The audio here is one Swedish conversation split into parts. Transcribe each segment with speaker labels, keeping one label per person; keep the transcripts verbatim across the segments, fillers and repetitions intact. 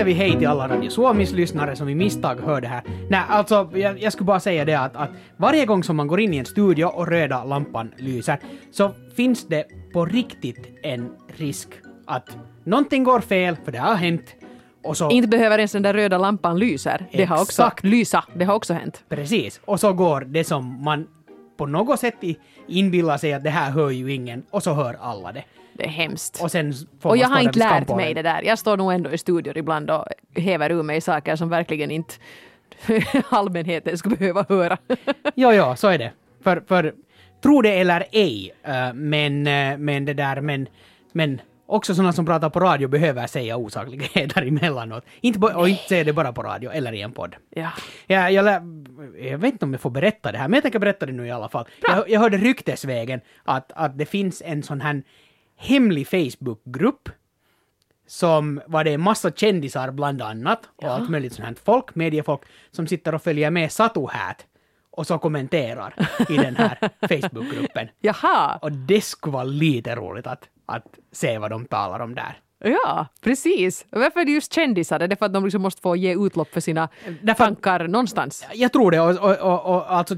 Speaker 1: vi hej till alla Radio Suomis lyssnare som i misstag hör det här. Nej, alltså jag, jag skulle bara säga det att, att varje gång som man går in i en studio och röda lampan lyser så finns det på riktigt en risk att någonting går fel, för det har hänt. Och så,
Speaker 2: inte behöver ens den där röda lampan lyser. Det har också lysa. Det har också hänt.
Speaker 1: Precis. Och så går det som man på något sätt inbillar sig att det här hör ju ingen, och så hör alla det.
Speaker 2: Det är hemskt.
Speaker 1: Och, sen får
Speaker 2: och
Speaker 1: man
Speaker 2: jag har inte lärt
Speaker 1: skampåren.
Speaker 2: mig det där. Jag står nog ändå i studior ibland och häver ur mig saker som verkligen inte allmänheten skulle behöva höra.
Speaker 1: Jo, jo, så är det. För, för tro det eller ej, uh, men, uh, men det där, men, men också sådana som pratar på radio behöver säga osakligheter emellanåt. Inte bo- och inte säga det bara på radio eller i en podd.
Speaker 2: Ja.
Speaker 1: Ja, jag, lä- jag vet inte om jag får berätta det här, men jag tänker berätta det nu i alla fall. Jag, jag hörde ryktesvägen att, att det finns en sån här hemlig Facebookgrupp som var det en massa kändisar bland annat och
Speaker 2: ja.
Speaker 1: allt möjligt sånt här folk, mediefolk som sitter och följer med Satu Hat och så kommenterar i den här Facebookgruppen.
Speaker 2: Jaha.
Speaker 1: Och det skulle vara lite roligt att, att se vad de talar om där.
Speaker 2: Ja, precis. Varför är det just kändisar? Är det för att de liksom måste få ge utlopp för sina
Speaker 1: Därför,
Speaker 2: tankar någonstans?
Speaker 1: Jag tror det. Och, och, och, och alltså,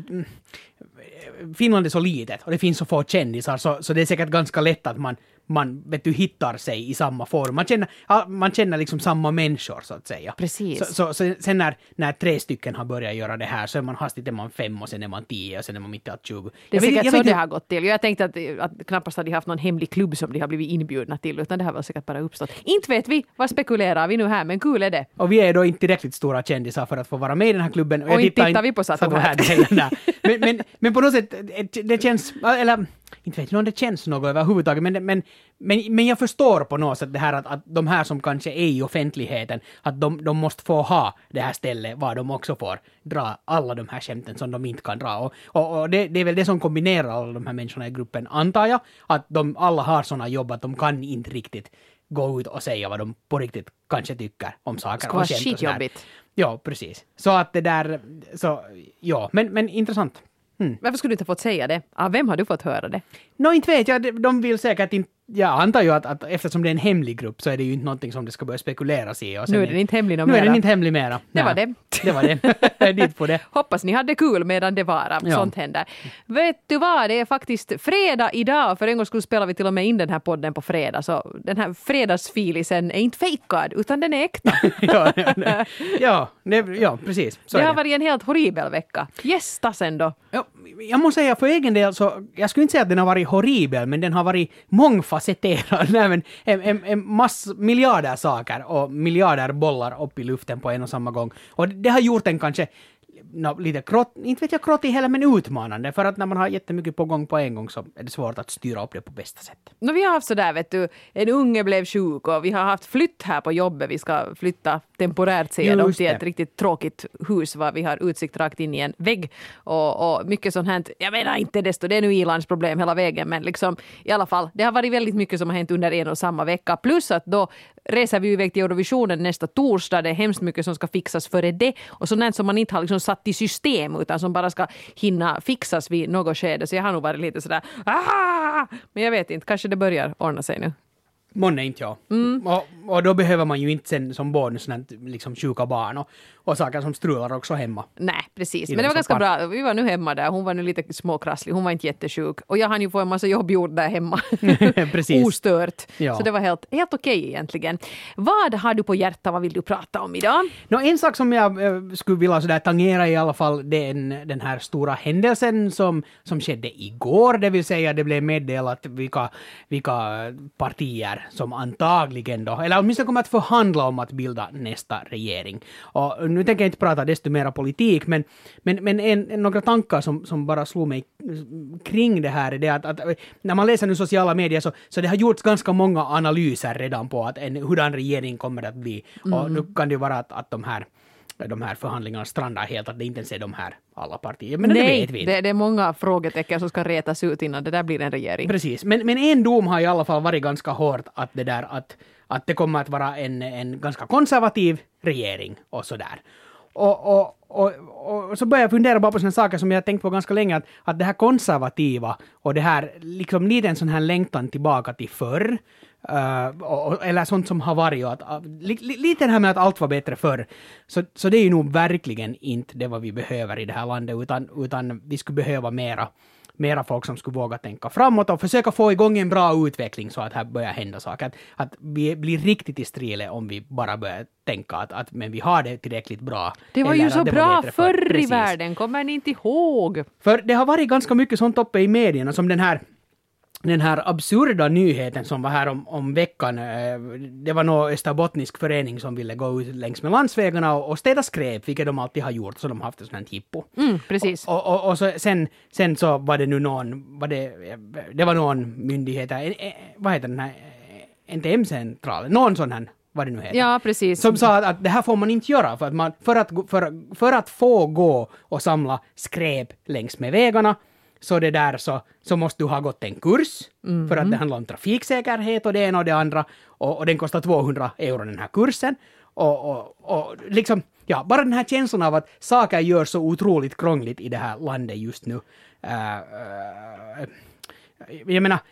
Speaker 1: Finland är så litet och det finns så få kändisar så, så det är säkert ganska lätt att man, man vet du, hittar sig i samma form. Man känner, man känner liksom samma människor så att säga.
Speaker 2: Precis.
Speaker 1: Så, så, så sen när, när tre stycken har börjat göra det här så är man hastigt är man fem och sen är man tio och sen är man mitt i allt tjugo.
Speaker 2: Det är
Speaker 1: jag
Speaker 2: säkert
Speaker 1: vet, jag
Speaker 2: så
Speaker 1: vet,
Speaker 2: det har gått till. Jag tänkte att, att knappast hade de haft någon hemlig klubb som de har blivit inbjudna till, utan det har väl säkert bara uppstått. Inte vet vi, vad spekulerar vi nu här, men kul är det.
Speaker 1: Och vi är då inte tillräckligt stora kändisar för att få vara med i den här klubben.
Speaker 2: Och, och inte tittar vi på Satu Hat.
Speaker 1: men, men, men på något sätt, det känns, eller inte vet jag om det känns något överhuvudtaget, men, men, men, men jag förstår på något sätt det här att, att de här som kanske är i offentligheten, att de, de måste få ha det här stället var de också får dra alla de här skämten som de inte kan dra. Och, och, och det, det är väl det som kombinerar alla de här människorna i gruppen, antar jag, att de alla har sådana jobb att de kan inte riktigt gå ut och säga vad de på riktigt kanske tycker om saker.
Speaker 2: Det ska vara skitjobbigt.
Speaker 1: Ja, precis. Så att det där, så, ja, men, men intressant.
Speaker 2: Mm. Varför skulle du inte fått säga det? Ah, vem har du fått höra det?
Speaker 1: Nå, no, inte vet jag. De vill säkert inte... Jag antar ju att, att eftersom det är en hemlig grupp så är det ju inte någonting som det ska börja spekuleras i. Och sen
Speaker 2: nu är den inte hemlig
Speaker 1: Nu
Speaker 2: mera.
Speaker 1: är den inte hemlig mera.
Speaker 2: Det var det.
Speaker 1: Det var det. Dit på det.
Speaker 2: Hoppas ni hade kul medan det var.
Speaker 1: Ja.
Speaker 2: Sånt händer. Vet du vad? Det är faktiskt fredag idag. För en gång skulle spela vi till och med in den här podden på fredag. Så den här fredagsfilisen är inte fejkad utan den är äkta.
Speaker 1: ja, ja, ja, det, ja, precis. Så
Speaker 2: det
Speaker 1: är
Speaker 2: har
Speaker 1: det.
Speaker 2: varit en helt horribel vecka. Gästas ändå.
Speaker 1: Ja, jag måste säga för egen del så, jag skulle inte säga att den har varit horribel, men den har varit mångfacetterad. Nej, men en, en, en mass miljarder saker och miljarder bollar upp i luften på en och samma gång. Och det, det har gjort den kanske no, lite krott, inte vet jag krott i heller, men utmanande. För att när man har jättemycket på gång på en gång så är det svårt att styra upp det på bästa sätt.
Speaker 2: No, vi har haft sådär, vet du, en unge blev sjuk och vi har haft flytt här på jobbet. Vi ska flytta temporärt säger de till ett riktigt tråkigt hus var vi har utsikt rakt in i en vägg. Och, och mycket sånt hänt. Jag menar inte desto, det är nu Ilans problem hela vägen, men liksom i alla fall, det har varit väldigt mycket som har hänt under en och samma vecka. Plus att då reser vi iväg till Eurovisionen nästa torsdag. Det är hemskt mycket som ska fixas före det. Och sånt som man inte har liksom satt i system utan som bara ska hinna fixas vid något skede. Så jag har nog varit lite sådär, ah! Men jag vet inte, kanske det börjar ordna sig nu.
Speaker 1: Månne inte jag. Mm. Och, och då behöver man ju inte sen som barn sådant, liksom sjuka barn och, och saker som strular också hemma.
Speaker 2: Nej, precis. Men det var ganska bra. Vi var nu hemma där. Hon var nu lite småkrasslig. Hon var inte jättesjuk. Och jag hann ju få en massa jobb gjort där hemma.
Speaker 1: Precis.
Speaker 2: Ostört.
Speaker 1: Ja.
Speaker 2: Så det var helt, helt okej egentligen. Vad har du på hjärta? Vad vill du prata om idag?
Speaker 1: Nå, en sak som jag äh, skulle vilja sådär tangera i alla fall, det är en, den här stora händelsen som, som skedde igår. Det vill säga det blev meddelat vilka, vilka partier som antagligen då, eller åtminstone kommer att förhandla om att bilda nästa regering. Och nu tänker jag inte prata desto mera politik, men, men, men en, några tankar som, som bara slog mig kring det här är det att, att när man läser nu sociala medier så, så det har gjorts ganska många analyser redan på att en, hurdan regering kommer att bli. Mm. Och nu kan det ju vara att, att de här de här förhandlingarna strandar helt, att det inte ens är de här alla partier. Men
Speaker 2: nej,
Speaker 1: det vet vi inte.
Speaker 2: Det, det är många frågetecken som ska retas ut innan det där blir en regering.
Speaker 1: Precis, men, men en dom har i alla fall varit ganska hårt att det där att, att det kommer att vara en, en ganska konservativ regering och sådär. Och, och, och, och så började jag fundera bara på sådana saker som jag tänkt på ganska länge, att, att det här konservativa och det här, liksom lite en sån här längtan tillbaka till förr, uh, och, eller sånt som har varit, och att, uh, li, li, lite det här med att allt var bättre förr, så, så det är ju nog verkligen inte det vad vi behöver i det här landet, utan, utan vi skulle behöva mera mera folk som skulle våga tänka framåt och försöka få igång en bra utveckling så att här börjar hända saker. Att, att vi blir riktigt i strile om vi bara börjar tänka att, att men vi har det tillräckligt bra.
Speaker 2: Det var ju så bra förr i
Speaker 1: Precis.
Speaker 2: världen, kommer ni inte ihåg?
Speaker 1: För det har varit ganska mycket sånt uppe i medierna, som den här den här absurda nyheten som var här om, om veckan. Det var någon österbottnisk förening som ville gå ut längs med landsvägarna och, och städa skräp, vilket de alltid har gjort, så de har haft ett sånt här hippo.
Speaker 2: Mm, precis.
Speaker 1: Och, och, och så, sen, sen så var det nu någon, var det, det var någon myndighet, en, en, vad heter den här, N T M-centralen, någon sån här, vad det nu heter.
Speaker 2: Ja, precis.
Speaker 1: Som sa att, att det här får man inte göra, för att, man, för att, för, för att få gå och samla skräp längs med vägarna, så det där så, så måste du ha gått en kurs, mm. för att det handlar om trafiksäkerhet och det ena och det andra, och, och den kostar tvåhundra euro den här kursen. Och, och, och liksom, ja, bara den här känslan av att saker gör så otroligt krångligt i det här landet just nu. Uh, uh, jag menar,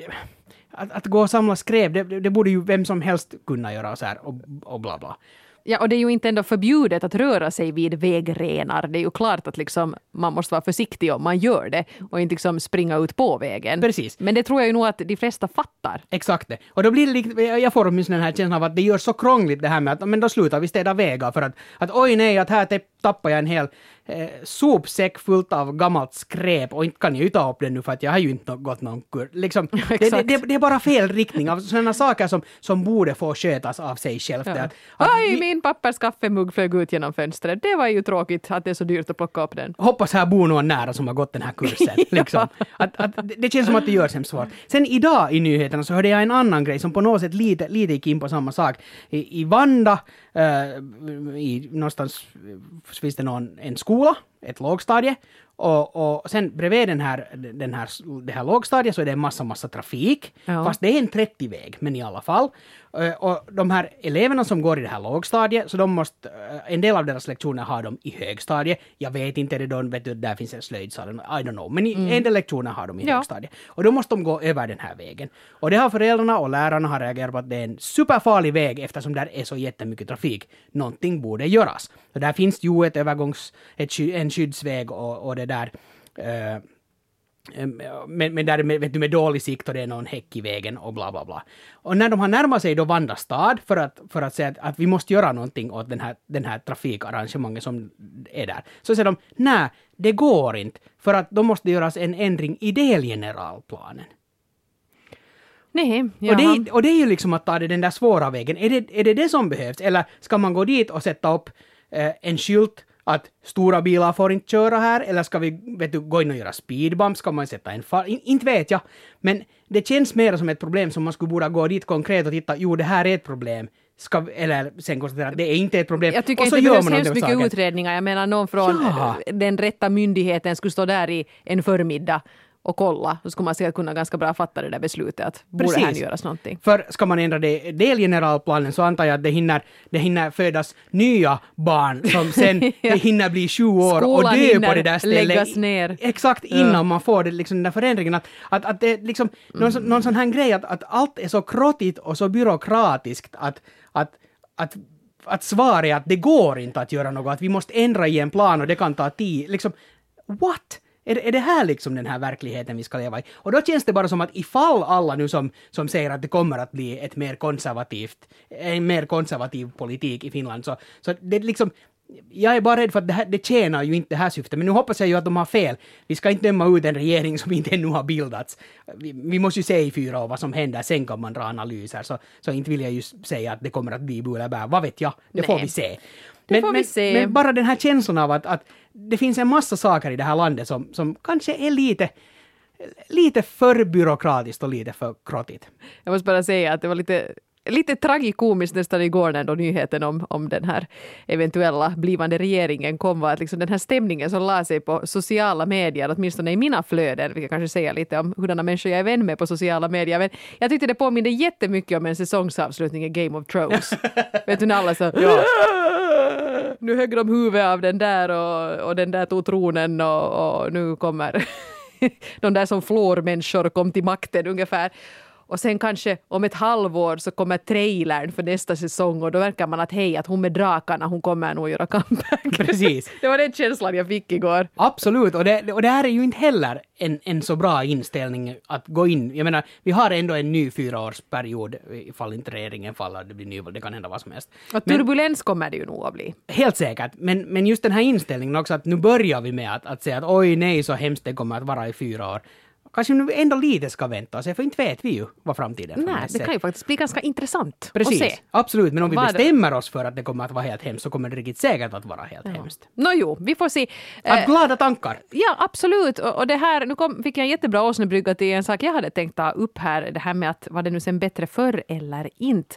Speaker 1: att, att gå och samla skräp, det, det borde ju vem som helst kunna göra så här, och, och bla bla.
Speaker 2: Ja, och det är ju inte ändå förbjudet att röra sig vid vägrenar. Det är ju klart att liksom man måste vara försiktig om man gör det och inte liksom springa ut på vägen.
Speaker 1: Precis.
Speaker 2: Men det tror jag ju nog att de flesta fattar.
Speaker 1: Exakt det. Och då blir det lite, jag får åtminstone den här känslan av att det gör så krångligt det här med att men då slutar vi städa vägar för att, att oj nej, att här tappar jag en hel eh, sopsäck fullt av gammalt skräp och inte kan jag ju ta upp den nu för att jag har ju inte gått någon kur. Liksom, det, det, det, det är bara fel riktning av sådana saker som, som borde få skötas av sig själv.
Speaker 2: Ja.
Speaker 1: Att, att
Speaker 2: Aj,
Speaker 1: vi,
Speaker 2: min pappers kaffemugg flög ut genom fönstret. Det var ju tråkigt att det är så dyrt att plocka upp den.
Speaker 1: Hoppas här bor någon nära som har gått den här kursen. Liksom. att, att, det känns som att det gör sig svårt. Sen idag i nyheterna så hörde jag en annan grej som på något sätt lite, lite gick in på samma sak. I, i Vanda, uh, i, någonstans finns det någon, en skola, ett lågstadie. Och, och sen bredvid den här, den här, det här lågstadiet så är det en massa, massa trafik. Ja. Fast det är en trettio-väg, men i alla fall. Och de här eleverna som går i det här lågstadiet, så de måste, en del av deras lektioner har de i högstadiet. Jag vet inte, det då, vet du, där finns en slöjdsal, I don't know. Men i, mm. en del lektioner har de i ja. högstadiet. Och då måste de gå över den här vägen. Och det har föräldrarna och lärarna har reagerat på att det är en superfarlig väg eftersom där är så jättemycket trafik. Någonting borde göras. Och där finns ju ett övergångs, ett, en skyddsväg och, och det där. Uh, Men, men där vet du, med dålig sikt och det är någon häck i vägen och bla bla bla. Och när de har närmat sig då Vanda stad för att, för att säga att, att vi måste göra någonting åt den här, den här trafikarrangemanget som är där, så säger de, nej, det går inte, för att då måste det göras en ändring i delgeneralplanen.
Speaker 2: Nej,
Speaker 1: och, det, och det är ju liksom att ta det den där svåra vägen. Är det, är det det som behövs? Eller ska man gå dit och sätta upp eh, en skylt att stora bilar får inte köra här, eller ska vi vet du, gå in och göra speedbump, ska man sätta en far... In, inte vet jag, men det känns mer som ett problem som man skulle borde gå dit konkret och titta, jo det här är ett problem, ska, eller sen konstatera att det är inte ett problem.
Speaker 2: Jag tycker inte det behövs hemskt mycket saken. Utredningar, jag menar någon från ja. den rätta myndigheten skulle stå där i en förmiddag och kolla, så skulle man säkert kunna ganska bra fatta det där beslutet att borde här göras någonting. För
Speaker 1: ska man ändra det delgeneralplanen så antar jag att det hinner, det hinner födas nya barn som sen ja. hinner bli tjugo år skolan och dö på det där stället.
Speaker 2: Läggas ner.
Speaker 1: Exakt innan ja. man får det, liksom, den där förändringen. Att, att, att det liksom, mm. någon, någon sån här grej att, att allt är så krottigt och så byråkratiskt att, att, att att svaret är att det går inte att göra något, att vi måste ändra i en plan och det kan ta tid. Liksom, what? Är det, är det här liksom den här verkligheten vi ska leva i? Och då känns det bara som att ifall alla nu som, som säger att det kommer att bli ett mer konservativt, en mer konservativ politik i Finland, så, så det liksom, jag är bara rädd för att det, här, det tjänar ju inte det här syftet. Men nu hoppas jag ju att de har fel. Vi ska inte döma ut en regering som inte ännu har bildats. Vi, vi måste ju se i fyra år vad som händer. Sen kan man dra analyser. Så, så inte vill jag ju säga att det kommer att bli bu eller bär. Vad vet jag? Det Nej. får vi se.
Speaker 2: Det
Speaker 1: men,
Speaker 2: får vi
Speaker 1: men,
Speaker 2: se.
Speaker 1: men bara den här känslan av att, att det finns en massa saker i det här landet som, som kanske är lite, lite för byråkratiskt och lite för krottigt.
Speaker 2: Jag måste bara säga att det var lite... Lite tragikomiskt nästan igår när då nyheten om, om den här eventuella blivande regeringen kom, var att liksom den här stämningen som la sig på sociala medier, åtminstone i mina flöden, vi kan kanske säga lite om hurdana människor jag är vän med på sociala medier, men jag tyckte det påminner jättemycket om en säsongsavslutning i Game of Thrones. Vet du när alla så... Ja. nu högg de huvudet av den där och, och den där tog tronen och, och nu kommer de där som flårmänniskor kom till makten ungefär. Och sen kanske om ett halvår så kommer trailern för nästa säsong och då verkar man att hej, att hon med drakarna, hon kommer nog göra comeback.
Speaker 1: Precis.
Speaker 2: Det var den känslan jag fick igår.
Speaker 1: Absolut, och det, och det här är ju inte heller en, en så bra inställning att gå in. Jag menar, vi har ändå en ny fyraårsperiod ifall inte regeringen faller, det blir nyval, det kan hända vad som helst.
Speaker 2: Och turbulens men, kommer det ju nog att bli.
Speaker 1: Helt säkert, men, men just den här inställningen också att nu börjar vi med att, att säga att oj nej så hemskt det kommer att vara i fyra år. Kanske nu ändå lite ska vänta oss, för inte vet vi ju vad framtiden
Speaker 2: Nej, det kan ju faktiskt bli ganska intressant
Speaker 1: Precis,
Speaker 2: att se.
Speaker 1: Absolut, men om vi
Speaker 2: Vad
Speaker 1: bestämmer oss för att det kommer att vara helt hemskt så kommer det riktigt säkert att vara helt ja. hemskt.
Speaker 2: Nå jo, vi får se.
Speaker 1: Att glada tankar.
Speaker 2: Ja, absolut. Och, och det här, nu kom, fick jag en jättebra åsnebrygga till en sak jag hade tänkt ta upp här, det här med att var det nu sen bättre förr eller inte.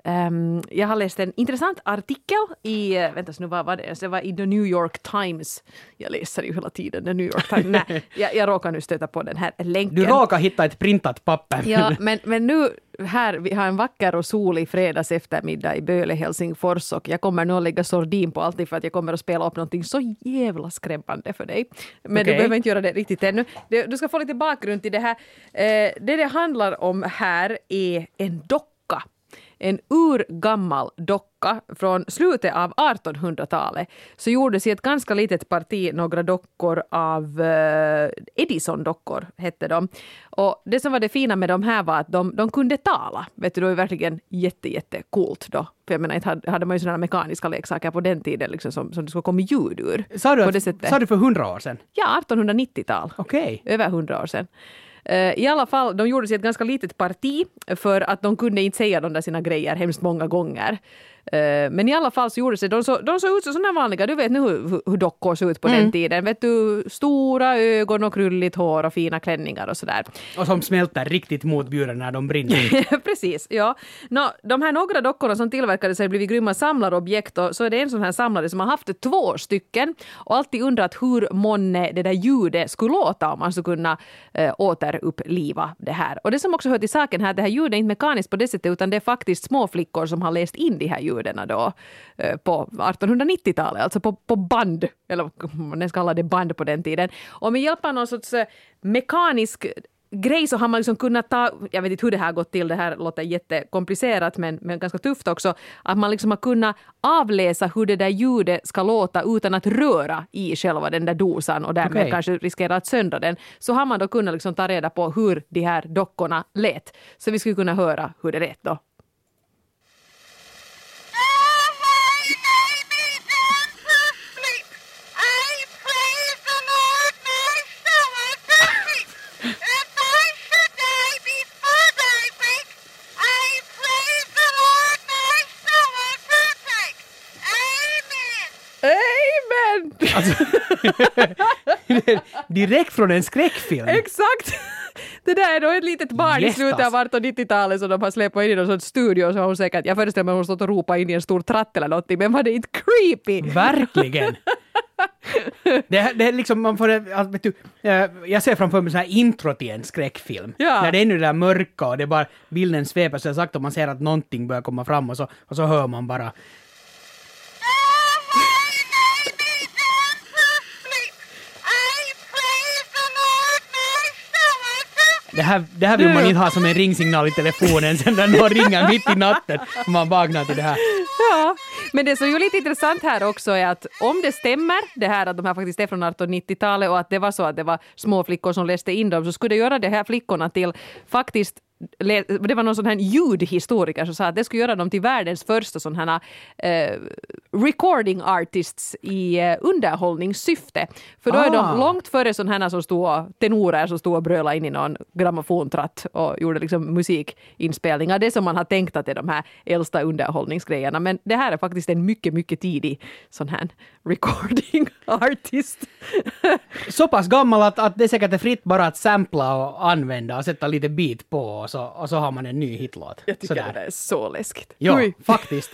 Speaker 2: Um, jag har läst en intressant artikel i, vänta nu vad var det, det var i The New York Times. Jag läser ju hela tiden The New York Times. Nej, jag, jag råkar nu stöta på den här länken.
Speaker 1: Du råkar hitta ett printat papper.
Speaker 2: Ja, men, men nu här, vi har en vacker och solig fredags eftermiddag i Böle, Helsingfors och jag kommer nu att lägga sordin på allting för att jag kommer att spela upp någonting så jävla skrämmande för dig. Men okay. Du behöver inte göra det riktigt ännu. Du ska få lite bakgrund till det här. Det det handlar om här är en docka. En urgammal docka från slutet av artonhundratalet så gjordes i ett ganska litet parti några dockor av uh, Edison-dockor hette de. Och det som var det fina med de här var att de, de kunde tala. Vet du, det var verkligen jätte, jätte coolt då. För jag menar, inte hade, hade man ju sådana mekaniska leksaker på den tiden liksom, som, som det skulle komma ljud ur.
Speaker 1: Sa du, att, sa du för hundra år sedan?
Speaker 2: Ja, artonhundranittiotal.
Speaker 1: Okej. Okay.
Speaker 2: Över hundra år sedan. I alla fall, de gjorde sig ett ganska litet parti för att de kunde inte säga de där sina grejer hemskt många gånger. Men i alla fall så gjorde sig, de, så, de såg ut som sådana vanliga, du vet nu hur, hur dockor såg ut på mm. den tiden. Vet du, stora ögon och krulligt hår och fina klänningar och sådär.
Speaker 1: Och som smälter riktigt motbjudande när de brinner.
Speaker 2: Precis, ja. Nå, de här några dockorna som tillverkades har blivit grymma samlarobjekt och så är det en sån här samlare som har haft två stycken och alltid undrat hur månne det där ljudet skulle låta om man skulle kunna äh, återuppliva det här. Och det som också hör till saken här, det här ljudet är inte mekaniskt på det sättet utan det är faktiskt små flickor som har läst in de här ljuden då på artonhundranittiotalet, alltså på, på band, eller man ska kalla det band på den tiden. Och med hjälp av någon sorts mekanisk grej så har man liksom kunnat ta, jag vet inte hur det här gått till, det här låter jättekomplicerat men, men ganska tufft också, att man liksom har kunnat avläsa hur det där ljudet ska låta utan att röra i själva den där dosan och därmed okay. kanske riskera att söndra den. Så har man då kunnat liksom ta reda på hur de här dockorna lät. Så vi skulle kunna höra hur det lät då.
Speaker 1: Alltså, direkt från en skräckfilm.
Speaker 2: Exakt. Det där är då ett litet barn i slutet av artonhundranittiotalet som de har släppt in i någon sån studio så har hon säkert, jag föreställer mig att hon stått och ropat in i en stor tratt eller någonting, men var det inte creepy?
Speaker 1: Verkligen. Det, det är liksom, man får, alltså, vet du, jag ser framför mig så här intro till en skräckfilm. Ja. När det är nu det där mörka och det är bara bilden sveper så sagt och man ser att någonting börjar komma fram och så, och så hör man bara Det här, det här vill man inte ha som en ringsignal i telefonen sen när någon ringer mitt i natten och man vaknar till det här.
Speaker 2: Ja, men det som är ju lite intressant här också är att om det stämmer, det här att de här faktiskt är från artonhundranittiotalet och att det var så att det var små flickor som läste in dem så skulle det göra de här flickorna till faktiskt det var någon sån här ljudhistoriker som sa att det skulle göra dem till världens första sån här eh, recording artists i eh, underhållningssyfte. För då ah. är de långt före sån här som stod tenorer som stod och brölade in i någon grammofontratt och gjorde liksom musikinspelningar. Det som man har tänkt att är de här äldsta underhållningsgrejerna. Men det här är faktiskt en mycket, mycket tidig sån här recording artist.
Speaker 1: Så pass gammal att, att det säkert är fritt bara att sampla och använda och sätta lite beat på och så, och så har man en ny hitlåt.
Speaker 2: Jag tycker Sådär. Det är så läskigt.
Speaker 1: Ja, Ui. faktiskt.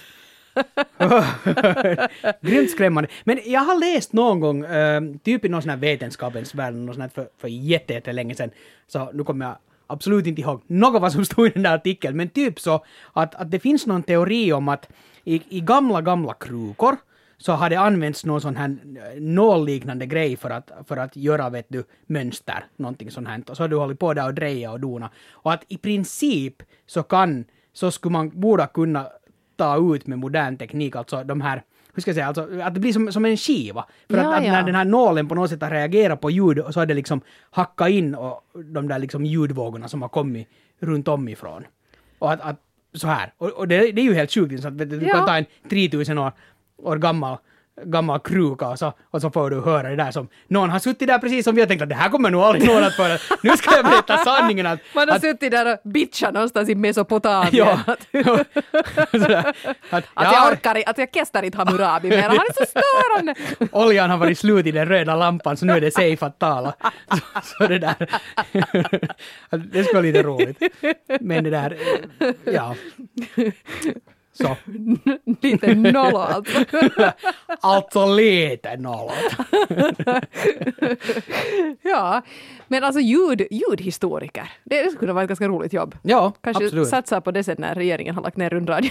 Speaker 1: Grymt skrämmande. Men jag har läst någon gång, äh, typ i någon sån här vetenskapens värld, någon sån här för, för jätte, jätte länge sedan, så nu kommer jag absolut inte ihåg något vad som stod i den där artikeln, men typ så att, att det finns någon teori om att i, i gamla, gamla krukor så har det använts någon sån här nålliknande grej för att, för att göra, vet du, mönster, någonting sånt här. Och så har du hållit på där och dreja och dona. Och att i princip så kan, så skulle man borde kunna ta ut med modern teknik, alltså de här, hur ska jag säga, alltså att det blir som, som en skiva. För
Speaker 2: ja,
Speaker 1: att, att
Speaker 2: ja.
Speaker 1: när den här nålen på något sätt har reagerat på ljud, och så har det liksom hackat in och de där liksom ljudvågorna som har kommit runt om ifrån. Och att, att så här. Och, och det, det är ju helt sjukt, så att du
Speaker 2: ja.
Speaker 1: kan ta en tretusen år, år gammal gammal kruka och så, och så får du höra det där som någon har suttit där precis som vi har tänkt att det här kommer nog aldrig någon att föra. Nu ska jag berätta sanningen. Att,
Speaker 2: man har
Speaker 1: att,
Speaker 2: suttit där och bitchat någonstans i Mesopotamien.
Speaker 1: Ja.
Speaker 2: Sådär, att, att,
Speaker 1: ja,
Speaker 2: jag orkar att jag kestar inte Hammurabi mer. Han är så störande.
Speaker 1: Oljan har varit slut i den röda lampan så nu är det safe att tala. Så, så det där. Det skulle vara lite roligt. Men det där, ja. Så.
Speaker 2: Lite nollå alltså.
Speaker 1: Alltså lite nollå.
Speaker 2: Ja, men alltså ljud, ljudhistoriker. Det, det skulle vara ett ganska roligt jobb.
Speaker 1: Ja,
Speaker 2: kanske
Speaker 1: absolut.
Speaker 2: satsa på det sen när regeringen har lagt ner rundradion.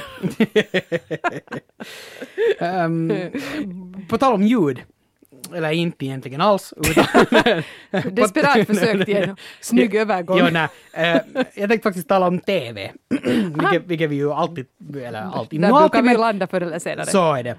Speaker 1: um, på tal om ljud. Eller inte egentligen alls. Utan
Speaker 2: desperat försök till en snygg övergång.
Speaker 1: Jo, nej. Uh, jag tänkte faktiskt tala om T V. vilket, vilket vi ju alltid, eller alltid,
Speaker 2: där
Speaker 1: no,
Speaker 2: brukar
Speaker 1: alltid,
Speaker 2: vi
Speaker 1: men,
Speaker 2: landa förr eller senare.
Speaker 1: Så är det.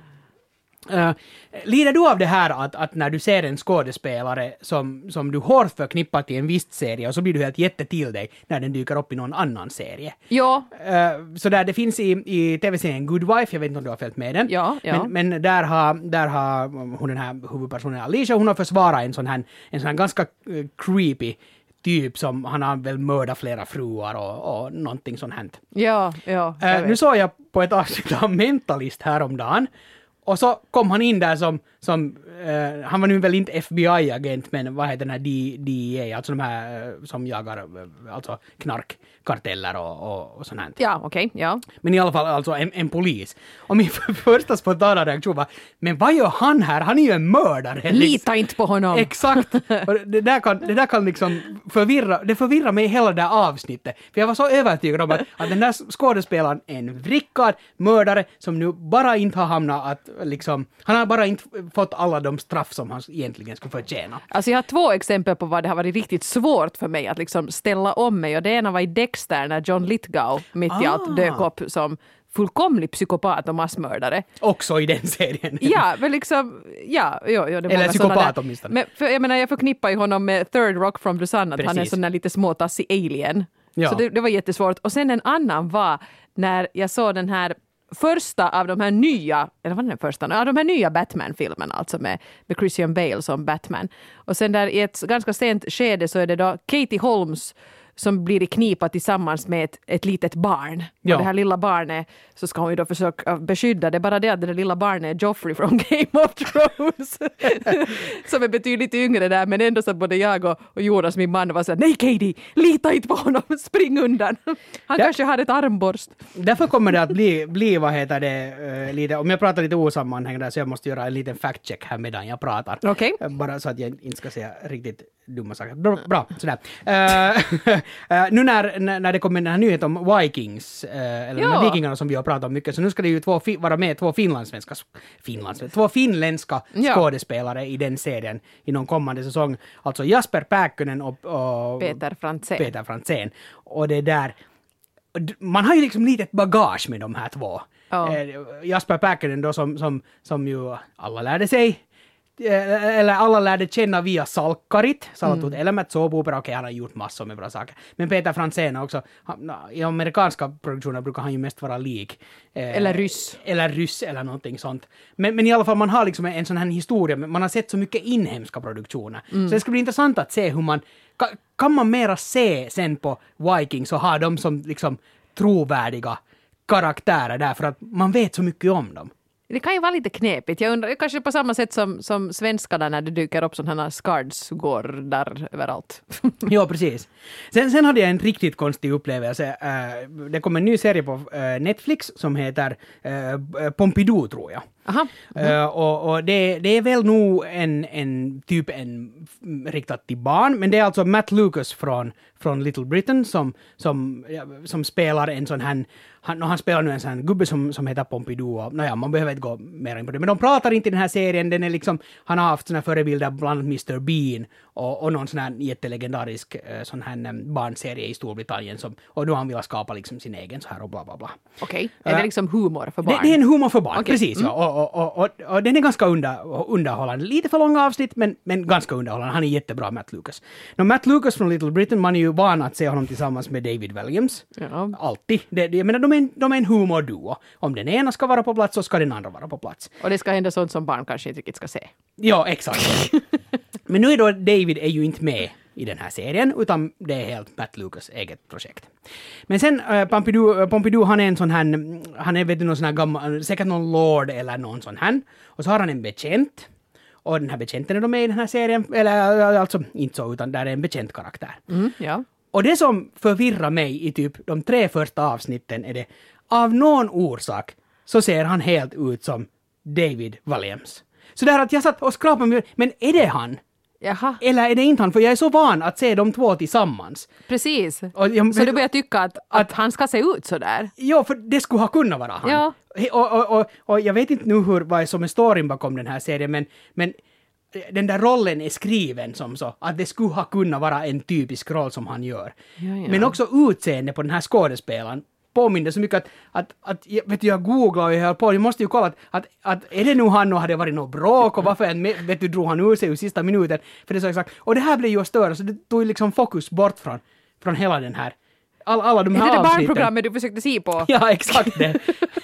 Speaker 1: Uh, lider du av det här att, att när du ser en skådespelare som, som du hårt förknippar till en viss serie och så blir du helt jätte till dig när den dyker upp i någon annan serie?
Speaker 2: Ja.
Speaker 1: Uh, så där det finns i, i tv-serien Good Wife, jag vet inte om du har följt med den.
Speaker 2: Ja, ja.
Speaker 1: Men, men där, har, där har hon, den här huvudpersonen Alicia, hon har försvarat en sån här, en sån här ganska uh, creepy typ som han har väl mördat flera fruar och, och någonting sånt här.
Speaker 2: Ja, ja.
Speaker 1: Uh, nu såg jag på ett avsnitt av Mentalist häromdagen. Och så kom han in där som, som uh, han var nu väl inte F B I-agent, men vad heter den här D E A, alltså de här uh, som jagar uh, alltså knarkkarteller och, och, och sånt här.
Speaker 2: Ja, okej, okay, ja.
Speaker 1: Men i alla fall alltså en, en polis. Och min första spontana reaktion var, men vad gör han här? Han är ju en mördare.
Speaker 2: Lita inte på honom.
Speaker 1: Exakt. Och det, där kan, det där kan liksom förvirra, det förvirrar mig hela det där avsnittet. För jag var så övertygad om att, att den där skådespelaren är en vrickad mördare som nu bara inte har hamnat att liksom, han har bara inte fått alla de straff som han egentligen skulle förtjäna.
Speaker 2: Alltså jag har två exempel på vad det har varit riktigt svårt för mig att liksom ställa om mig. Och det ena var i Dexter när John Lithgow mitt i
Speaker 1: Ah.
Speaker 2: allt dök upp som fullkomlig psykopat och massmördare.
Speaker 1: Också i den serien.
Speaker 2: Ja, men liksom, ja, jo, jo, det är
Speaker 1: eller psykopat åtminstone.
Speaker 2: Men för, jag menar, jag förknippar ju honom med Third Rock from the Sun, att
Speaker 1: Precis.
Speaker 2: han är en sån där lite småtassig alien.
Speaker 1: Ja.
Speaker 2: Så det, det var jättesvårt. Och sen en annan var när jag såg den här första av de här nya, eller vad är den första? Ja, de här nya Batman-filmerna, alltså med, med Christian Bale som Batman. Och sen där i ett ganska sent skede så är det då Katie Holmes som blir i knipa tillsammans med ett, ett litet barn.
Speaker 1: Ja.
Speaker 2: Och det här lilla barnet så ska hon ju då försöka beskydda det. Bara det att det lilla barnet är Joffrey från Game of Thrones. Som är betydligt yngre där, men ändå så både jag och, och Jonas, min man, var så här, nej Katie, lita inte på honom, spring undan. Han
Speaker 1: Ja.
Speaker 2: kanske har ett armborst.
Speaker 1: Därför kommer det att bli, bli vad heter det, uh, lite, om jag pratar lite osammanhängande så jag måste göra en liten fact-check här medan jag pratar.
Speaker 2: Okej.
Speaker 1: Uh, bara så att jag inte ska säga riktigt dumma saker. Bra, bra sådär. Uh, uh, nu när, när när det kommer den här nyheten om Vikings, uh, eller
Speaker 2: Ja.
Speaker 1: de här vikingarna som vi har pratat om mycket, så nu ska det ju två fi- vara med två finlandssvenska, finlandssvenska, två finländska
Speaker 2: Ja.
Speaker 1: skådespelare i den serien i någon kommande säsong. Alltså Jasper Pääkkönen och, och
Speaker 2: Peter Frantzén.
Speaker 1: Peter Frantzén. Och det där, man har ju liksom litet bagage med de här två.
Speaker 2: Ja.
Speaker 1: Eh, Jasper Pääkkönen då som, som, som ju alla lärde sig, eh, eller alla lärde känna via Salkkarit, Salatut mm. elämät, såpopera, okej, han har gjort massor med bra saker. Men Peter Frantzén också, han, i amerikanska produktioner brukar han ju mest vara lik. Eh,
Speaker 2: Eller ryss.
Speaker 1: Eller ryss eller någonting sånt. Men, men i alla fall, man har liksom en sån här historia, man har sett så mycket inhemska produktioner. Mm. Så det ska bli intressant att se hur man, kan, kan man mera se sen på Vikings och ha dem som liksom trovärdiga karaktärer där, för att man vet så mycket om dem.
Speaker 2: Det kan ju vara lite knepigt. Jag undrar, kanske på samma sätt som, som svenskarna när det dyker upp sådana här scards går där överallt.
Speaker 1: Ja, precis. Sen, sen hade jag en riktigt konstig upplevelse. Uh, det kom en ny serie på uh, Netflix som heter uh, Pompidou, tror jag.
Speaker 2: Aha. Mm.
Speaker 1: Uh, och och det, det är väl nog en, en typ en riktat till barn, men det är alltså Matt Lucas från, från Little Britain som, som, ja, som spelar en sån här, han, han spelar nu en sån här gubbe som, som heter Pompidou, och naja, man behöver inte gå mer in på det, men de pratar inte i den här serien, den är liksom, han har haft såna förebilder bland annat mister Bean och, och någon sån här jättelegendarisk uh, sån här um, barnserie i Storbritannien som, och då han vill skapa liksom sin egen så här och bla bla bla.
Speaker 2: Okej, okay. Är det liksom humor för barn?
Speaker 1: Det, det är en humor för barn,
Speaker 2: okay.
Speaker 1: precis.
Speaker 2: Mm.
Speaker 1: Ja. Och, och, och, och, och den är ganska under, underhållande. Lite för långa avsnitt, men, men ganska underhållande. Han är jättebra, Matt Lucas. Nå, Matt Lucas från Little Britain, man är ju van att se honom tillsammans med David Williams. Ja. Alltid. Det, det, jag menar, de är en, de är en humorduo. Om den ena ska vara på plats så ska den andra vara på plats.
Speaker 2: Och det ska hända sånt som barn kanske inte riktigt ska se.
Speaker 1: Ja, exakt. Men nu är då David är ju inte med i den här serien, utan det är helt Matt Lucas eget projekt. Men sen äh, Pompidou, Pompidou, han är en sån här, han är vet du någon sån här gammal, säkert någon lord eller någon sån här. Och så har han en bekänt. Och den här bekännten är då med i den här serien, eller alltså inte så, utan där är en bekänt karaktär.
Speaker 2: Mm, ja.
Speaker 1: Och det som förvirrar mig i typ de tre första avsnitten är det, av någon orsak så ser han helt ut som David Williams. Så där att jag satt och skrapade mig, men är det han?
Speaker 2: Jaha.
Speaker 1: Eller är det inte han? För jag är så van att se de två tillsammans.
Speaker 2: Precis.
Speaker 1: Och jag,
Speaker 2: så du börjar tycka att, att, att han ska se ut så där?
Speaker 1: Ja, för det skulle ha kunnat vara han.
Speaker 2: Ja.
Speaker 1: Och, och, och, och jag vet inte nu hur, vad som är storyn bakom den här serien, men, men den där rollen är skriven som så, att det skulle ha kunnat vara en typisk roll som han gör.
Speaker 2: Ja, ja.
Speaker 1: Men också utseende på den här skådespelaren påminner så mycket att, att, att vet du, jag googlade och jag höll på, jag måste ju kolla att, att, att är det nu han och hade varit något bråk och varför vet du, drog han ur sig i sista minuten, för det är så exakt, och det här blev ju att störa, så det tog liksom fokus bort från, från hela den här all, alla de här
Speaker 2: avsnitten. Är det det
Speaker 1: avsnitten.
Speaker 2: barnprogrammet du försökte se på?
Speaker 1: Ja, exakt det.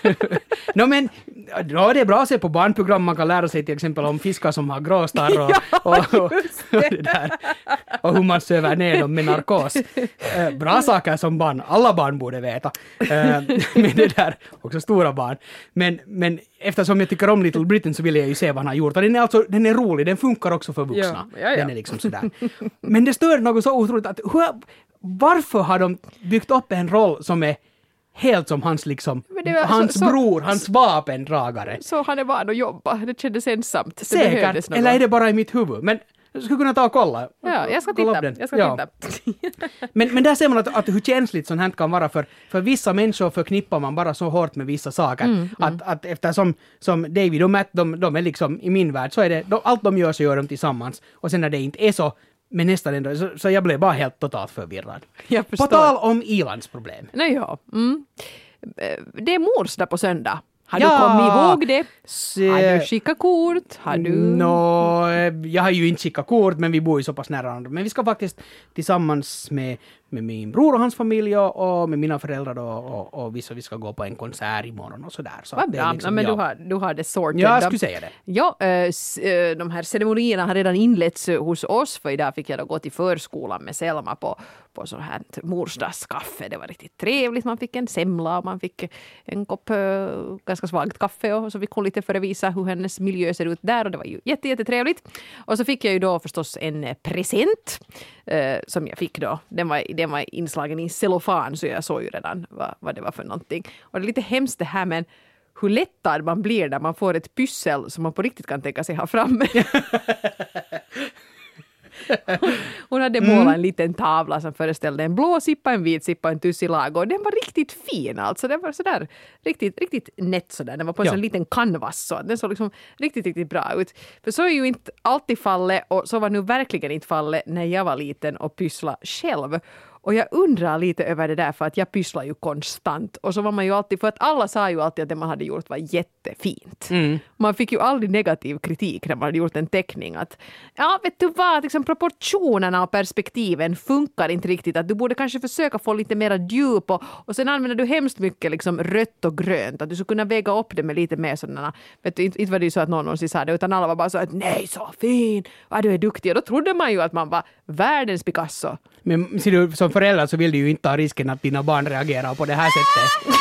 Speaker 1: no, men ja, det är bra att se på barnprogram, man kan lära sig till exempel om fiskar som har gråstarr och,
Speaker 2: ja,
Speaker 1: och, och, och, det där. Och hur man söver ner dem med narkos. Eh, bra saker som barn, alla barn borde veta. Eh, men det där, också stora barn. Men, men eftersom jag tycker om Little Britain så vill jag ju se vad han har gjort. Och den är, alltså, den är rolig, den funkar också för vuxna.
Speaker 2: Ja, ja, ja.
Speaker 1: Den är liksom sådär. Men det stör något så otroligt att hur, varför har de byggt upp en roll som är helt som hans liksom, hans
Speaker 2: så,
Speaker 1: bror, så, hans vapendragare.
Speaker 2: Så han är van att jobba, det kändes ensamt. Det
Speaker 1: säkert, eller är det bara i mitt huvud? Men jag skulle kunna ta och kolla.
Speaker 2: Ja, jag ska titta. Jag ska
Speaker 1: ja. titta. men, men där ser man att, att hur känsligt sånt här kan vara, för, för vissa människor förknippar man bara så hårt med vissa saker. Mm, att, mm. att eftersom som David och Matt, de, de är liksom, i min värld så är det, de, allt de gör så gör de tillsammans. Och sen när det inte är så, men nästan ändå, så, så jag blev bara helt totalt förvirrad. På tal om ilandsproblem.
Speaker 2: Nej, ja. Mm. Det är mors där på söndag. Har
Speaker 1: ja,
Speaker 2: du kommit ihåg det?
Speaker 1: Se,
Speaker 2: har du skickat kort? Har du...
Speaker 1: No, jag har ju inte skickat kort, men vi bor ju så pass nära varandra. Men vi ska faktiskt tillsammans med, med min bror och hans familj och, och med mina föräldrar och, och, och vi, så vi ska gå på en konsert imorgon och sådär. Så
Speaker 2: vad bra, liksom, men ja. du, har, du har det sorted.
Speaker 1: Ja, jag skulle säga det.
Speaker 2: Ja, äh, de här ceremonierna har redan inletts hos oss, för idag fick jag då gå till förskolan med Selma på, på så här morsdagskaffe. Det var riktigt trevligt. Man fick en semla och man fick en kopp äh, ganska svagt kaffe och så fick hon lite förevisa hur hennes miljö ser ut där och det var ju jätte, jättetrevligt. Och så fick jag ju då förstås en present äh, som jag fick då. Den var, den var inslagen i cellofan så jag såg ju redan vad, vad det var för någonting. Och det är lite hemskt det här, men hur lättad man blir när man får ett pyssel som man på riktigt kan tänka sig ha framme. Hon hade målat mm. en liten tavla som föreställde en blå sippa, en vit sippa, en tussilago. Och den var riktigt fin alltså. Den var sådär riktigt, riktigt nätt sådär. Den var på en ja. sån liten canvas så. Den såg liksom riktigt, riktigt bra ut. För så är ju inte alltid fallet, och så var nu verkligen inte fallet när jag var liten och pyssla själv. Och jag undrar lite över det där, för att jag pysslar ju konstant. Och så var man ju alltid, för att alla sa ju alltid att det man hade gjort var jättefint. Mm. Man fick ju aldrig negativ kritik när man hade gjort en teckning. Att, ja, vet du vad, liksom proportionerna och perspektiven funkar inte riktigt. Att du borde kanske försöka få lite mera djup. Och, och sen använder du hemskt mycket liksom rött och grönt. Att du skulle kunna väga upp det med lite mer sådana. Vet du, inte, inte var det ju så att någon någonsin sa det, utan alla var bara så att nej, så fin. Ja, du är duktig. Och då trodde man ju att man var världens Picasso.
Speaker 1: Men ser du, som förälder så vill du ju inte ha risken att dina barn reagerar på det här sättet.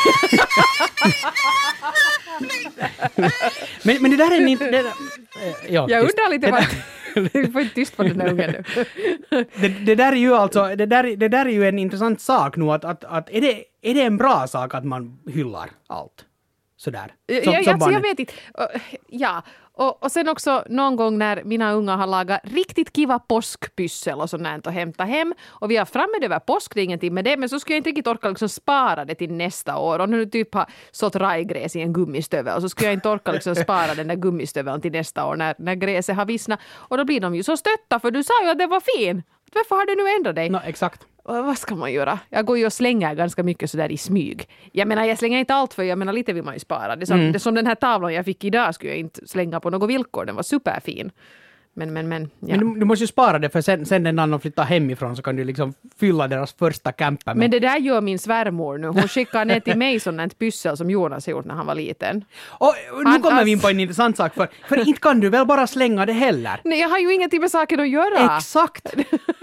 Speaker 1: men, men det där är en... Det där,
Speaker 2: ja, jag undrar lite vad... Du får inte tyst på den här ungen nu.
Speaker 1: det, det där är ju alltså... Det där, det där är ju en intressant sak nu. Att, att, att är, det, är det en bra sak att man hyllar allt? sådär.
Speaker 2: Som, ja, som alltså, jag vet inte. Ja, och, och sen också någon gång när mina unga har lagat riktigt kiva påskpyssel och sånt och hämtat hem. Och vi har framme över påsk, det är ingenting med det. Men så skulle jag inte riktigt orka liksom spara det till nästa år. Och nu typ har sått rajgräs i en gummistövel. Och så skulle jag inte orka liksom spara den där gummistöveln till nästa år när, när gräset har vissnat. Och då blir de ju så stötta för du sa ju att det var fin. Varför har du nu ändrat dig?
Speaker 1: No, exakt.
Speaker 2: Och vad ska man göra? Jag går ju och slänger ganska mycket sådär i smyg. Jag menar, jag slänger inte allt för jag menar lite vill man ju spara. Det som, mm. det som den här tavlan jag fick idag skulle jag inte slänga på något villkor. Den var superfin. Men, men, men, ja.
Speaker 1: men du, du måste ju spara det för sen, sen när de flyttar hemifrån så kan du liksom fylla deras första camper med.
Speaker 2: Men det där gör min svärmor nu. Hon skickar ner till mig sån ett pyssel som Jonas har gjort när han var liten.
Speaker 1: Och nu han, kommer vi in på en intressant sak för, för inte kan du väl bara slänga det heller?
Speaker 2: Nej, jag har ju ingenting med saken att göra.
Speaker 1: Exakt,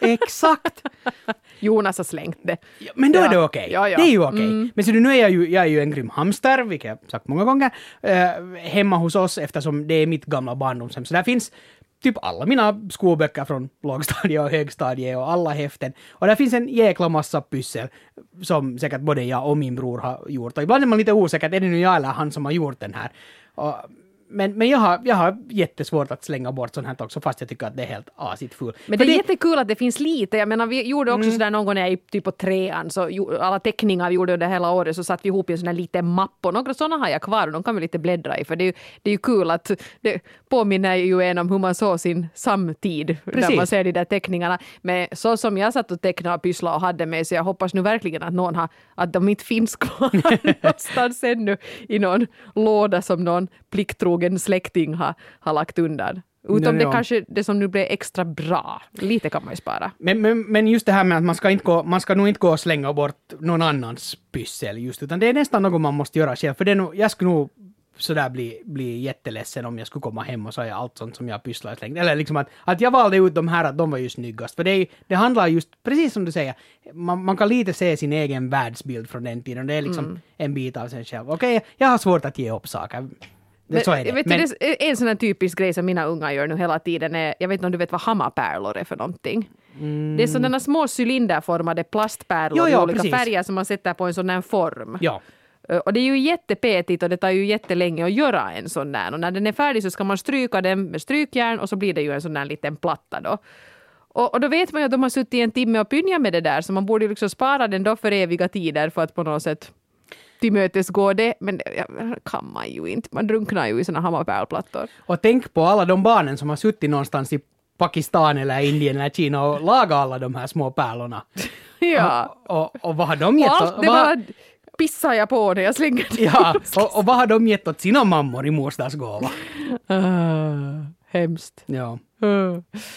Speaker 1: exakt.
Speaker 2: Jonas har slängt det.
Speaker 1: Ja, men då ja. är det okej. Okay.
Speaker 2: Ja, ja.
Speaker 1: Det är ju okej. Okay.
Speaker 2: Mm.
Speaker 1: Men så nu är jag ju, jag är ju en grym hamster, vilket jag sagt många gånger, eh, hemma hos oss eftersom det är mitt gamla barndomshem. Så där finns typ alla mina skolböcker från lågstadiet och högstadiet och alla häften. Och där finns en jäkla massa pyssel som säkert både jag och min bror har gjort. Och ibland är man lite osäker, är det nu jag eller han som har gjort den här? Och Men, men jag, har, jag har jättesvårt att slänga bort sånt här också fast jag tycker att det är helt asigt full.
Speaker 2: Men det är det... jättekul att det finns lite. Jag menar, vi gjorde också mm. sådär någon gång när jag är typ på trean så alla teckningar vi gjorde under hela året så satt vi ihop i en sån här liten mapp och några sådana har jag kvar och de kan vi lite bläddra i för det är ju, det är ju kul att det påminner ju en om hur man såg sin samtid. Precis. När man ser de där teckningarna. Men så som jag satt och tecknade och pyssla och hade med så jag hoppas nu verkligen att någon har, att de inte finns kvar någonstans ännu i någon låda som någon plikttrogen släkting har, har lagt undan. Utom det kanske det som nu blir extra bra. Lite kan man ju spara.
Speaker 1: Men, men, men just det här med att man ska, inte gå, man ska nog inte gå och slänga bort någon annans pyssel just, utan det är nästan något man måste göra själv. För det är nog, jag skulle nog sådär bli, bli jätteledsen om jag skulle komma hem och säga allt sånt som jag pysslar slängt. Eller liksom att, att jag valde ut de här att de var ju snyggast. För det, är, det handlar just, precis som du säger, man, man kan lite se sin egen världsbild från den tiden. Det är liksom mm. en bit av sig själv. Okej, okay, jag har svårt att ge upp saker. Det, så är det.
Speaker 2: Vet
Speaker 1: men...
Speaker 2: du, det är en sån här typisk grej som mina unga gör nu hela tiden. Är, jag vet inte om du vet vad hammapärlor är för någonting. Mm. Det är sådana små cylinderformade plastpärlor jo, jo, i olika precis. färger som man sätter på en sån här form.
Speaker 1: Ja.
Speaker 2: Och det är ju jättepetigt och det tar ju jättelänge att göra en sån där. Och när den är färdig så ska man stryka den med strykjärn och så blir det ju en sån där liten platta då. Och, och då vet man ju att de har suttit en timme och pynjat med det där så man borde ju liksom spara den då för eviga tider för att på något sätt till mötes går det, men det kan man ju inte. Man drunknar ju i såna hammapärlplattor.
Speaker 1: Och tänk på alla de barnen som har suttit någonstans i Pakistan eller Indien eller Kina och lagat alla de här små pärlorna.
Speaker 2: Ja.
Speaker 1: Och, och, och vad har de gett?
Speaker 2: Och allt, det var pissar jag på när jag slänger det.
Speaker 1: Ja, och, och vad har de gett åt sina mammor i morsdagsgåva?
Speaker 2: Uh, hemskt.
Speaker 1: Ja.
Speaker 2: Uh.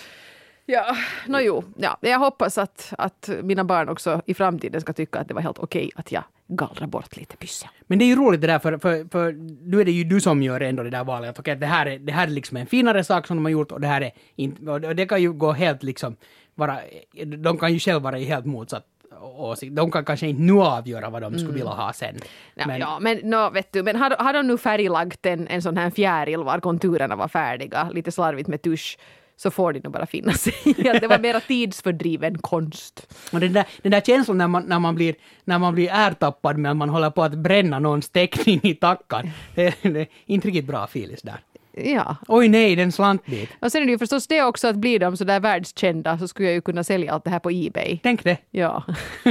Speaker 2: Ja, no, jo. Ja, jag hoppas att, att mina barn också i framtiden ska tycka att det var helt okej att jag gallrar bort lite pyssel.
Speaker 1: Men det är ju roligt det där, för, för, för nu är det ju du som gör ändå det där valet. Att okej, det här är, det här är liksom en finare sak som de har gjort och det här är inte, och det kan ju gå helt liksom, vara, de kan ju själva vara i helt motsatt åsikt. De kan kanske inte nu avgöra vad de skulle mm. vilja ha sen.
Speaker 2: Ja,
Speaker 1: men,
Speaker 2: ja, men, no, vet du, men har, har de nu färglagt en, en sån här fjäril var konturerna var färdiga, lite slarvigt med tusch, så får det nog bara finna sig i att det var mera tidsfördriven konst.
Speaker 1: Och den där, den där känslan när man, när man blir, när man blir ärtappad med att man håller på att bränna någons teckning i tackan, det, det är inte riktigt bra filis där.
Speaker 2: Ja.
Speaker 1: Oj nej, den slantbit.
Speaker 2: Och sen är det ju förstås det också att blir de så där världskända så skulle jag ju kunna sälja allt det här på eBay.
Speaker 1: Tänk det.
Speaker 2: Ja.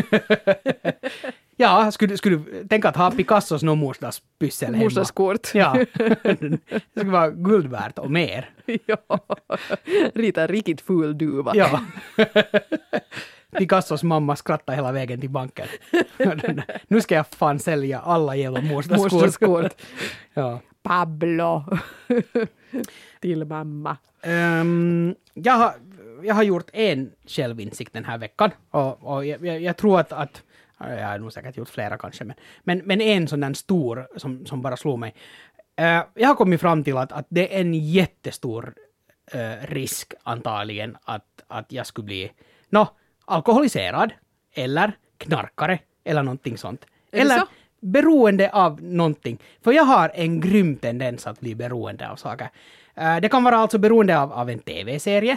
Speaker 1: Ja, skulle, skulle du tänka att ha Picassos någon morsdagspyssel hemma?
Speaker 2: Morsdagskort.
Speaker 1: Ja, det skulle vara guld värt och mer.
Speaker 2: Ja, rita riktigt ful duva.
Speaker 1: Ja. Picassos mamma skrattar hela vägen till banken. Nu ska jag fan sälja alla jävla morsdagskort.
Speaker 2: Morsdagskort.
Speaker 1: Ja.
Speaker 2: Pablo. Till mamma.
Speaker 1: Um, jag, har, jag har gjort en självinsikt den här veckan. Och, och jag, jag, jag tror att, att jag har nog säkert gjort flera kanske, men, men, men en sån där stor som, som bara slog mig. Uh, jag har kommit fram till att, att det är en jättestor uh, risk antagligen att, att jag skulle bli no, alkoholiserad eller knarkare eller någonting sånt. Eller så? Beroende av någonting. För jag har en grym tendens att bli beroende av saker. Uh, det kan vara alltså beroende av, av en tv-serie.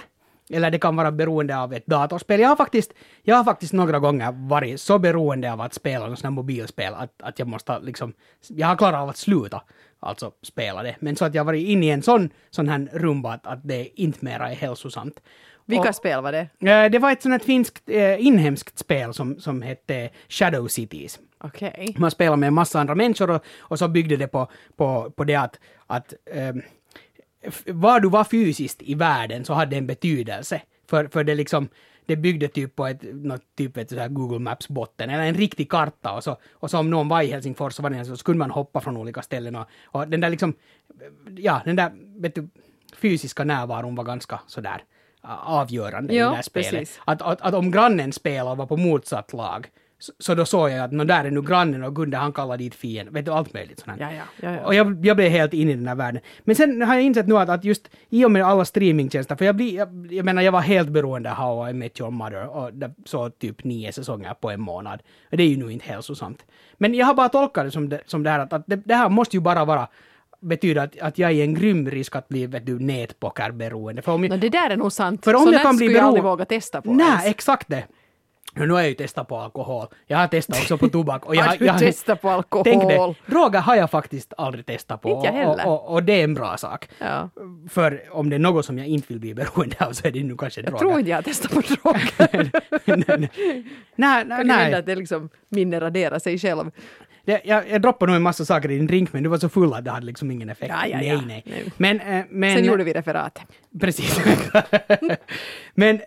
Speaker 1: eller det kan vara beroende av ett datorspel. Jag har faktiskt, jag har faktiskt några gånger varit så beroende av att spela något sånt här mobilspel att, att jag måste liksom, jag har klarat av att sluta alltså spela det. Men så att jag har varit inne i en sån, sån här rumba att, att det inte mera är hälsosamt.
Speaker 2: Vilka
Speaker 1: och,
Speaker 2: spel var det?
Speaker 1: Eh, det var ett sånt här finskt, eh, inhemskt spel som, som hette Shadow Cities.
Speaker 2: Okej. Okay.
Speaker 1: Man spelade med en massa andra människor och, och så byggde det på, på, på det att, att eh, var du var fysiskt i världen så hade en betydelse. För, för det liksom, det byggde typ på ett, något typ ett så här Google Maps-botten, eller en riktig karta. Och så, och så om någon var i Helsingfors så, var det, så skulle man hoppa från olika ställen. Och, och den där liksom, ja, den där vet du, fysiska närvaron var ganska sådär avgörande
Speaker 2: ja,
Speaker 1: i det här spelet.
Speaker 2: Att,
Speaker 1: att, att, att om grannen spelade och var på motsatt lag, så, så då såg jag att no, där är nu grannen och Gunde han kallar dit fienden. Vet du, allt möjligt sånt
Speaker 2: ja, ja, ja, ja.
Speaker 1: Och jag, jag blev helt inne i den här världen. Men sen har jag insett nu att, att just i och med alla streamingtjänster, för jag blir, jag, jag menar jag var helt beroende av How I Met Your Mother och det, så typ nio säsonger på en månad. Och det är ju nu inte hälsosamt. Men jag har bara tolkat det som det, som det här att, att det, det här måste ju bara vara betyder att, att jag är en grym risk att bli vet du, nätpokerberoende. För om jag,
Speaker 2: no, det där är nog sant.
Speaker 1: För om
Speaker 2: så
Speaker 1: jag kan bli
Speaker 2: skulle jag aldrig
Speaker 1: bero...
Speaker 2: våga testa på.
Speaker 1: Nej,
Speaker 2: ens.
Speaker 1: exakt det. Nu har jag ju testat på alkohol. Jag har testat också på tobak. Och jag,
Speaker 2: har du
Speaker 1: jag,
Speaker 2: testat på alkohol?
Speaker 1: Tänk det. Droger har jag faktiskt aldrig testat på.
Speaker 2: Inte jag heller.
Speaker 1: Och, och, och det är en bra sak.
Speaker 2: Ja.
Speaker 1: För om det är något som jag inte vill bli beroende av så är det nu kanske
Speaker 2: jag
Speaker 1: droger.
Speaker 2: Jag tror inte jag har testat på droger.
Speaker 1: nej, nej,
Speaker 2: kan
Speaker 1: nej.
Speaker 2: hända att det liksom minne raderar sig själv.
Speaker 1: Det, jag, jag droppade nog en massa saker i din drink, men du var så full att det hade liksom ingen effekt.
Speaker 2: Ja, ja, ja.
Speaker 1: Nej, nej. nej. Men, äh, men,
Speaker 2: sen gjorde vi referat.
Speaker 1: Precis. men...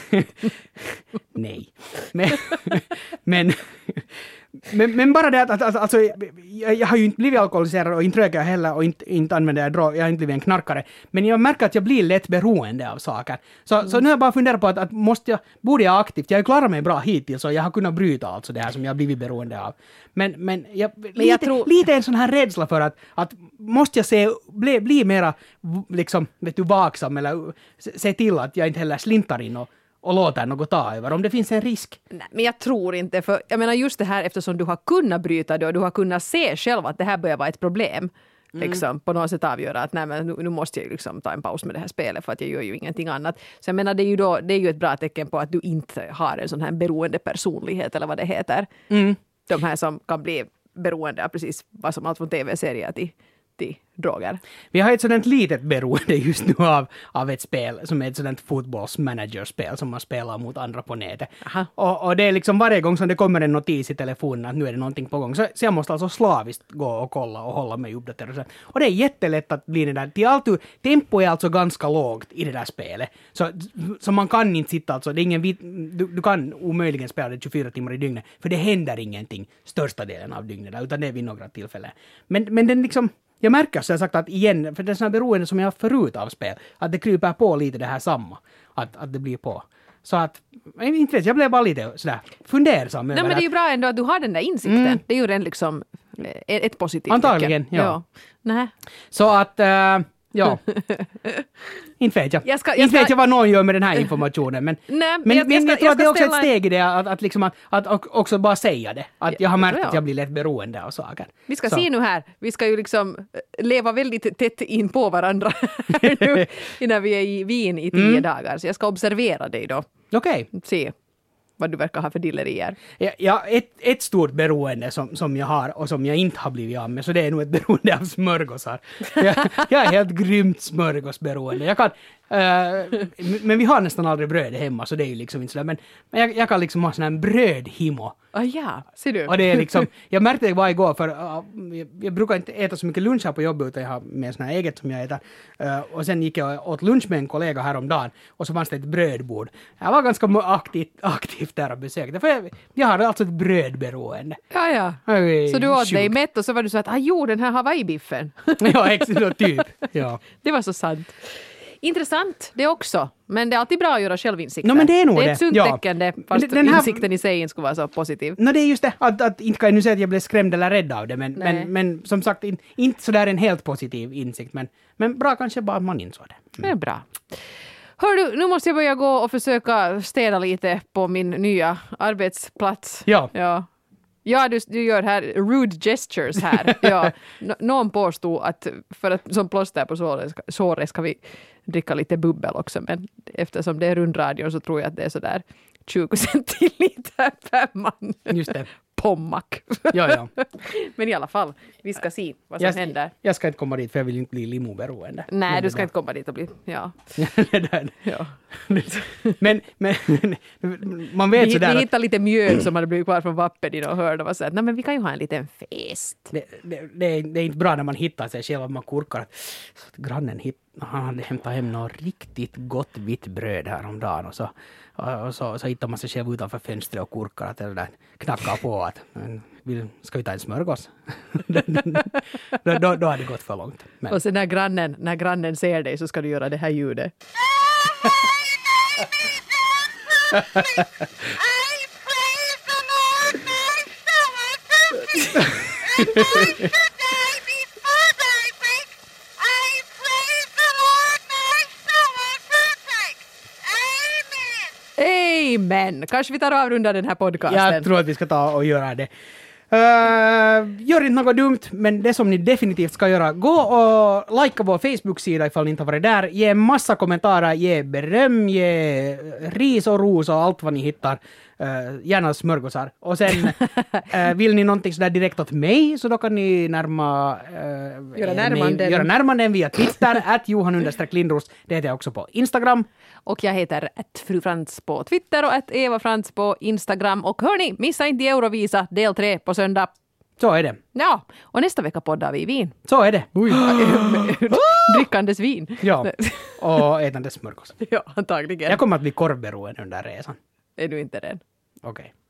Speaker 1: nej. Men, men, men, men bara det att, att, att alltså, jag, jag har ju inte blivit alkoholiserad och inte röker jag heller och inte, inte använder jag drog, jag har inte blivit en knarkare. Men jag märker att jag blir lätt beroende av saker. Så, mm. så nu har jag bara funderat på att, att måste jag, borde jag aktivt, jag har klarat mig bra hittills och jag har kunnat bryta alltså det här som jag har blivit beroende av. Men, men, jag, men lite, jag tror... lite en sån här rädsla för att, att måste jag se, bli, bli mera liksom, vet du, vaksam eller se till att jag inte heller slintar in och och låter något ta över, om det finns en risk.
Speaker 2: Nej, men jag tror inte, för jag menar just det här eftersom du har kunnat bryta det och du har kunnat se själv att det här börjar vara ett problem. Mm. Liksom, på något sätt avgöra att nej, men nu, nu måste jag liksom ta en paus med det här spelet för att jag gör ju ingenting annat. Så jag menar det är ju, då, det är ju ett bra tecken på att du inte har en sån här beroende personlighet eller vad det heter. Mm. De här som kan bli beroende av precis vad som allt från tv-serier till droger.
Speaker 1: Vi har ett sådant litet beroende just nu av, av ett spel som är ett sådant fotbollsmanagerspel som man spelar mot andra på nätet. Och, och det är liksom varje gång som det kommer en notis i telefonen att nu är det någonting på gång. Så, så jag måste alltså slaviskt gå och kolla och hålla mig uppdaterad. Och det är jättelätt att bli det där. Till allt, tempo är alltså ganska lågt i det där spelet. Så, så man kan inte sitta alltså, det är ingen vit, du, du kan omöjligen spela det tjugofyra timmar i dygnet. För det händer ingenting största delen av dygnet där, utan det är vid några tillfällen. Men, men den liksom jag märker så jag sagt att igen, för det är sådana beroende som jag har förut av spel, att det kryper på lite det här samma, att, att det blir på. Så att, jag inte vet, jag blev bara lite sådär fundersam.
Speaker 2: Nej, men det är ju bra ändå att du har den där insikten. Mm. Det är ju den liksom ett positivt
Speaker 1: antagligen, ja.
Speaker 2: ja. Nej.
Speaker 1: Så att, äh, ja. inte vet jag. jag, ska, jag inte ska... vet jag vad någon gör med den här informationen. Men,
Speaker 2: Nej,
Speaker 1: men
Speaker 2: jag,
Speaker 1: men jag, jag tror
Speaker 2: jag
Speaker 1: att det är också
Speaker 2: ställa...
Speaker 1: ett steg i det att, att, liksom att, att också bara säga det. Att jag har märkt
Speaker 2: ja.
Speaker 1: att jag blir lätt beroende av saker.
Speaker 2: Vi ska så. se nu här. Vi ska ju liksom leva väldigt tätt in på varandra nu, innan vi är i Wien i tio mm. dagar. Så jag ska observera dig då.
Speaker 1: Okej. Okay.
Speaker 2: Se vad du verkar ha för dillerier.
Speaker 1: Ja, ja, ett, ett stort beroende som, som jag har och som jag inte har blivit av med, så det är nog ett beroende av smörgåsar. Jag, jag är helt grymt smörgåsberoende. Jag kan, uh, men vi har nästan aldrig bröd hemma, så det är ju liksom inte sådär. Men, men jag, jag kan liksom ha sån här brödhimo.
Speaker 2: Ah, ja, ser du.
Speaker 1: Och det är liksom, jag märkte det bara igår, för uh, jag, jag brukar inte äta så mycket lunch här på jobbet, utan jag har med sån här eget som jag äter. Uh, och sen gick jag åt lunch med en kollega häromdagen, och så fanns det ett brödbord. Jag var ganska aktivt, aktivt där och besökte, för jag, jag har alltså ett brödberoende.
Speaker 2: Ja, ja. Så du åt sjuk. dig mätt och så var du så att, ah jo, den här Hawaii-biffen.
Speaker 1: Ja, exakt, typ. Ja.
Speaker 2: Det var så sant. Intressant det också, men det är alltid bra att göra självinsikter.
Speaker 1: No, men det är nog
Speaker 2: det. är
Speaker 1: det.
Speaker 2: ett sunt
Speaker 1: ja.
Speaker 2: tecken det, fast den här... insikten i sig inte skulle vara så positiv.
Speaker 1: No, det är just det, att, att inte kan jag nu säga att jag blev skrämd eller rädd av det, men, men, men som sagt, in, inte sådär en helt positiv insikt, men, men bra kanske bara att man insåg det. Mm.
Speaker 2: Det är bra. Hör du, nu måste jag börja gå och försöka städa lite på min nya arbetsplats.
Speaker 1: Ja.
Speaker 2: Ja. Ja, du, du gör här rude gestures här. Ja. N- någon påstod att för att som plåster på såret ska, såret ska vi dricka lite bubbel också, men eftersom det är rundradion så tror jag att det är sådär tjugo centiliter per man.
Speaker 1: Just det.
Speaker 2: Pommac.
Speaker 1: Ja, ja.
Speaker 2: Men i alla fall, vi ska se vad som
Speaker 1: Jag,
Speaker 2: händer.
Speaker 1: jag ska inte komma dit för jag vill inte bli limoberoende.
Speaker 2: Nej,
Speaker 1: Men
Speaker 2: du ska
Speaker 1: det
Speaker 2: inte komma dit och bli... Ja.
Speaker 1: där-
Speaker 2: ja.
Speaker 1: men, men man vet
Speaker 2: Vi,
Speaker 1: sådär
Speaker 2: vi
Speaker 1: att
Speaker 2: hittade lite mjöl som hade blivit kvar från vappen i och hörde och var så att, nej men vi kan ju ha en liten fest.
Speaker 1: det, det, det, är, det är inte bra när man hittar sig själv att man kurkar att, så att grannen hit, han hade hämtat hem något riktigt gott vitt bröd häromdagen och så, och, och så, så hittar man sig själv utanför fönstret och kurkar att det där knackar på att vill, ska vi ta en smörgås? då, då, då har det gått för långt. Men.
Speaker 2: Och sen när grannen, när grannen ser dig så ska du göra det här ljudet. Amen! Kanske vi tar och avrundar den här podcasten.
Speaker 1: Jag tror att vi ska ta och göra det. Uh, gör inte något dumt, men det som ni definitivt ska göra, gå och likea vår Facebook-sida ifall ni inte har varit där. Ge massa kommentarer, ge beröm, ge ris och ros och allt vad ni hittar. Uh, gärna smörgåsar. Och sen uh, vill ni någonting sådär direkt åt mig så då kan ni närma uh,
Speaker 2: Göra närmanden.
Speaker 1: göra närmanden via Twitter, at Johan understreck Lindros. Det heter jag också på Instagram.
Speaker 2: Och jag heter att Fru Frans på Twitter och att Eva Frans på Instagram. Och hörni, missa inte Eurovisa del tre på söndag.
Speaker 1: Så är det.
Speaker 2: Ja, och nästa vecka poddar vi i Wien.
Speaker 1: Så är det.
Speaker 2: Drickandes vin.
Speaker 1: Ja, och ätandes smörgås.
Speaker 2: Ja, antagligen.
Speaker 1: Jag kommer att bli korvberoende under resan.
Speaker 2: Är du inte den?
Speaker 1: Okej. Okay.